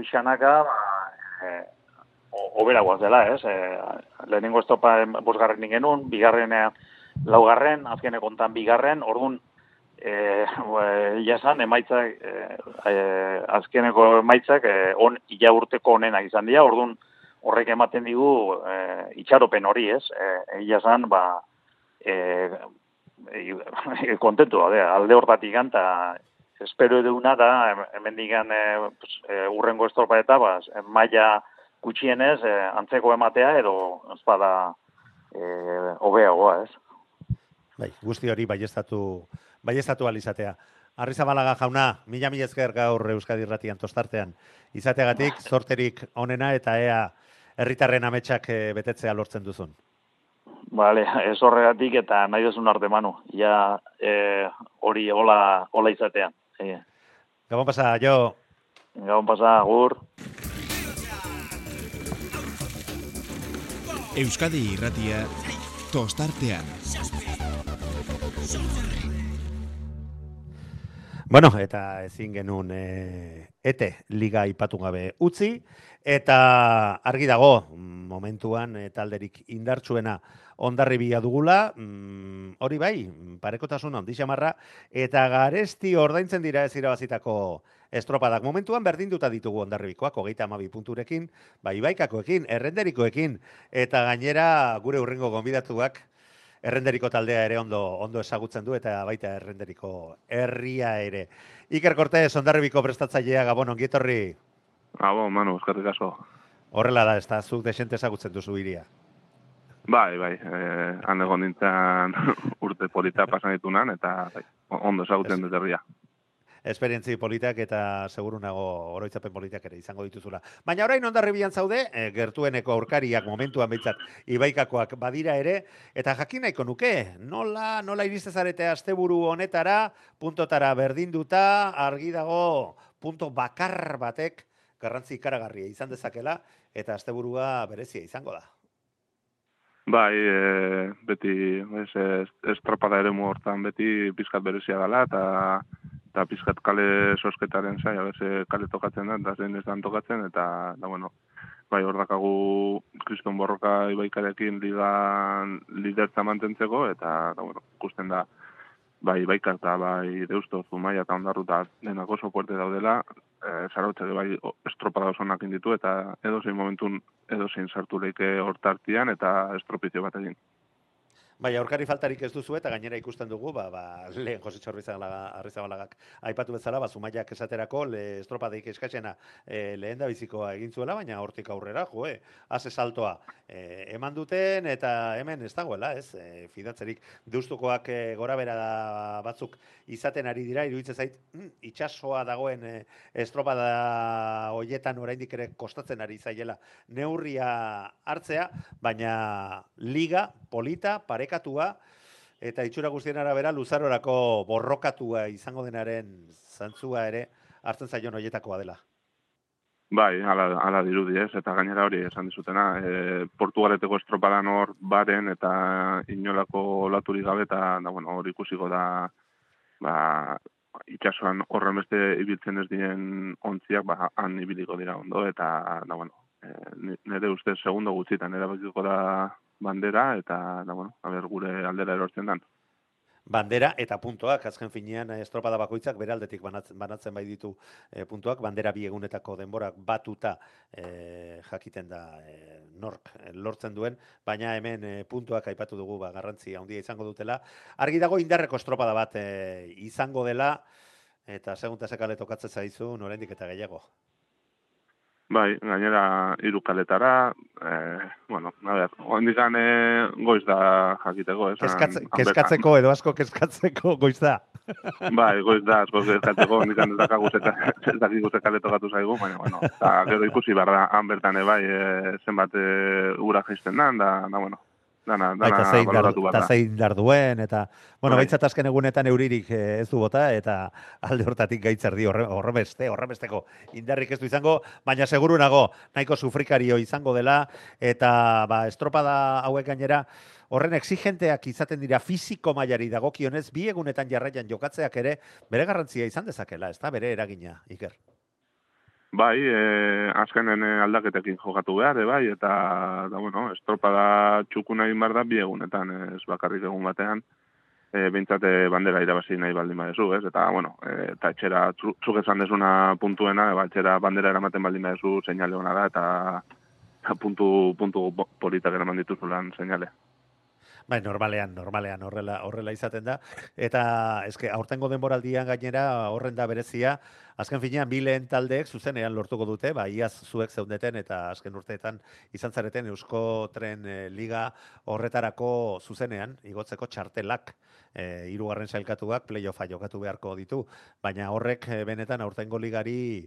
obera guaz dela, ez? Lehenengo estropa bosgarren genuen, bigarren laugarren, azkeneko ontan bigarren, orduan, jasan, emaitzak, azkeneko emaitzak, ila urteko onenak izan dira, orduan, horrek ematen digu itxaropen hori, ez? Jasan, kontentu da, alde hortatik ganta, espero eduna da, hemen digan urrengo estropa eta, maila gutxienez, antzeko ematea, edo espada hobeagoa, ez? Bai, guzti hori baieztatu alizatea. Arrizabalaga jauna, mila esker gaur Euskadi Irratian tostartean. Izateagatik, zorterik onena eta ea herritarren ametsak betetzea lortzen duzun. Bale, ez horregatik eta nahi duzun arte manu. Ja, hori hola izatea. Gabon pasa, jo. Gabon pasa, agur. Euskadi Irratia tostartean. Bueno, eta ezin genuen ete liga ipatu gabe utzi, eta argi dago momentuan talderik indartsuena Hondarribia dugula, hori bai, parekotasun handi xamarra, eta garesti ordaintzen dira ez irabazitako estropadak. Momentuan berdinduta ditugu Hondarribikoak, 32 punturekin, Ibaikakoekin, Errenderikoekin, eta gainera gure urrengo gonbidatuak Errenderiko taldea ere ondo ezagutzen du, eta baita Errenderiko herria ere. Iker Cortez, Hondarribiko prestatzailea, Gabon, ongietorri. Gabon, Manu, eskerrik asko. Horrela da, ez da, zuk desente ezagutzen duzu iria. Bai, han egon nintzen urte polita pasan ditunan, eta ondo ezagutzen dut herria. Esperientzi politak eta seguru nago oroitzapen politak ere izango dituzula. Baina orain Hondarribian zaude, gertueneko aurkariak momentuan behintzat Ibaikakoak badira ere, eta jakin nahiko nuke, nola iriste zarete asteburu honetara, puntotara berdinduta, argi dago punto bakar batek garrantzi ikaragarria izan dezakela, eta asteburua berezia izango da. Bai, beti estropada ere hortan beti pizkat berezia dela, eta pizkat kale sosketaren zai, kale tokatzen da, eta zein ez dan tokatzen, eta bueno, bai, hor dakagu Kriston Borroka Ibaikarekin ligan lidertza mantentzeko, eta bueno, ikusten da, bai Ibaikar eta bai Deusto, Zumaia eta Hondarru eta denak oso puerte daudela, Zarautzak bai estropada osonak inditu, eta edozein momentun edozein sartu leike hortartian, eta estropizio bat egin. Bai, aurkari faltarik ez duzu eta gainera ikusten dugu, lehen Jositxo Arrizabalagak aipatu bezala, Zumaiak esaterako estropadeik eskaxena lehen da bizikoa egin zuela, baina hortik aurrera, haze saltoa eman duten eta hemen ez dagoela, ez? Fidatzerik Deustukoak gorabera batzuk izaten ari dira, iruditzen zait, itxasoa dagoen estropada hoietan oraindik ere kostatzen ari zaiela neurria hartzea, baina liga, polita, parekatua, eta itxura guztien arabera luzarorako borrokatua izango denaren zantzua ere hartzen zaion hoietakoa dela. Bai, ala dirudi ez, eta gainera hori esan dizutena, Portugaleteko estropadan hor baren eta inolako olaturik gabe, eta bueno, hor ikusiko da, itxasuan horren beste ibiltzen ez diren ontziak, han ibiliko dira ondo, eta bueno, nire ustez segundo gutxitan erabakiko da bandera, eta bueno, gure aldera erortzen dan. Bandera eta puntuak, azken finean estropada bakoitzak bere aldetik banatzen bai ditu puntuak, bandera bi egunetako denborak batuta jakiten da nork lortzen duen, baina hemen puntuak aipatu dugu garrantzi handia izango dutela. Argi dago indarreko estropada bat izango dela, eta segunta sekale tokatzen zaizu, oraindik eta gehiago. Bai, gainera 3 kaletara, bueno, ondikan goiz da jakiteko. Kezkatzeko edo asko kezkatzeko goiz da. Bai, goiz da asko kezkatzeko, ondikan ez dakiko ze kale tokatu zaigu, baina, bueno, eta gero ikusi barra han bertan bai, zenbat ura jaisten da, bueno, dana baloratu behar da. Eta zein dar duen, eta, bueno, baitzat azken egunetan euririk ez du bota, eta alde hortatik gaitzer di horrebesteko indarrik ez du izango, baina seguru nago, nahiko sufrikario izango dela, eta estropada hauek gainera, horren exigenteak izaten dira fisiko mailari dagokionez, 2 egunetan jarraian jokatzeak ere, bere garrantzia izan dezakela, ez da, bere eragina, Iker. Bai, azkenen aldaketekin jokatu behar, bai, eta, bueno, estropada txukuna egin behar da 2 egunetan, ez bakarrik egun batean, behintzate bandera irabazi nahi baldin badezu, ez? Eta, bueno, eta etxera, zuk esan desuna puntuena, etxera bandera eramaten baldin badezu, seinale hona da, eta puntu politak eraman dituzulan seinale. Bai, normalean horrela izaten da, eta eske aurtengo denboraldian gainera horren da berezia, azken finean 2 lehen taldeek zuzenean lortuko dute, iaz zuek zeundeten eta azken urteetan izan zareten Eusko Tren Liga horretarako zuzenean igotzeko txartelak, 3. sailkatuak playoffa jokatu beharko ditu, baina horrek benetan aurtengo ligari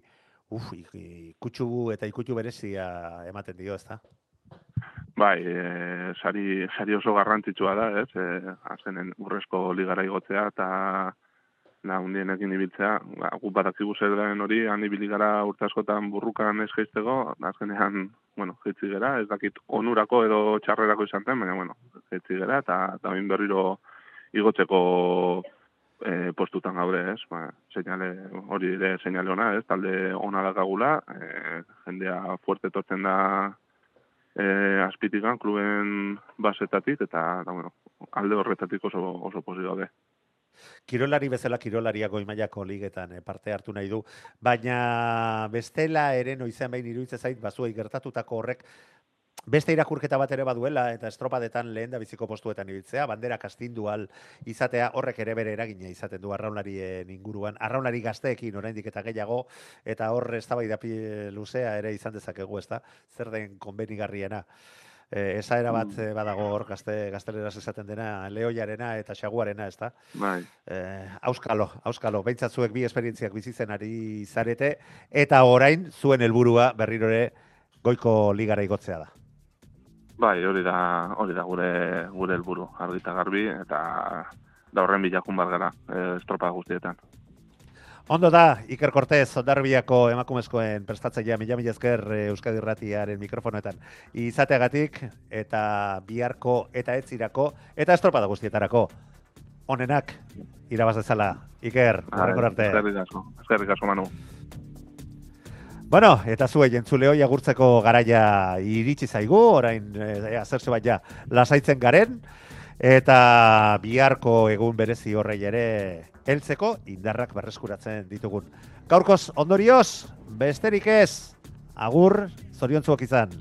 ikutsu eta ikutu berezia ematen dio, ezta? Bai, sari oso garrantzitsua da, ez? Azkenen urrezko ligara igotzea eta hundienekin ibiltzea. Guk badakigu zer den hori, han ibili gara urte askotan burrukan ez jaisteko, azkenean, bueno, jaitsi gera, ez dakit onurako edo txarrerako izan zen, baina, bueno, jaitsi gera, eta bain berriro igotzeko postutan gaude, ez? Hori ere seinale ona, ez? Talde ona dakagula, jendea fuerte tortzen da azpitikan, kluben basetatik, eta bueno, alde horretatik oso posi gaude. Kirolari bezala kirolaria goi mailako ligetan parte hartu nahi du, baina bestela ere noizean behin iruditzen zait bazuei gertatutako horrek beste irakurketa bat ere baduela, eta estropadetan lehen da biziko postuetan ibiltzea, banderak astindu al izatea, horrek ere bere eragina izaten du arraunlarien inguruan, arraunlari gazteekin oraindik eta gehiago, eta hor eztabaida luzea ere izan dezakegu, ezta? Zer den konbenigarriena. Esaera bat badago hor gazteleraz esaten dena, lehoiarena eta xaguarena, ezta? Bai. Auskalo, behintzat zuek 2 esperientziak bizitzen ari zarete, eta orain zuen helburua berriro ere goiko ligara igotzea da. Bai, hori da gure helburu, argi eta garbi, eta da horren bilakun bar gara, estropa guztietan. Ondo da, Iker Cortez, Hondarribiako emakumezkoen prestatzailea, mila esker Euskadi Irratiaren mikrofonetan izateagatik, eta biharko eta etzirako, eta estropada guztietarako. Onenak, irabaz dezala. Iker, horrengor arte. Eskerrik asko, Manu. Bueno, eta zuei entzuleoi agurtzeko garaia iritsi zaigu, orain zertxo bat ja lasaitzen garen, eta biharko egun berezi horrei ere heltzeko indarrak berreskuratzen ditugun. Gaurkoz ondorioz, besterik ez, agur, zoriontzuak izan.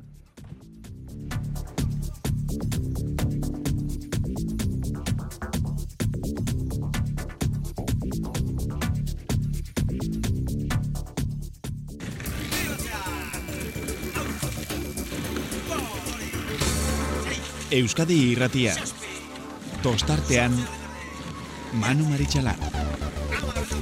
Euskadi Irratia. Tostartean Manu Maritxalar.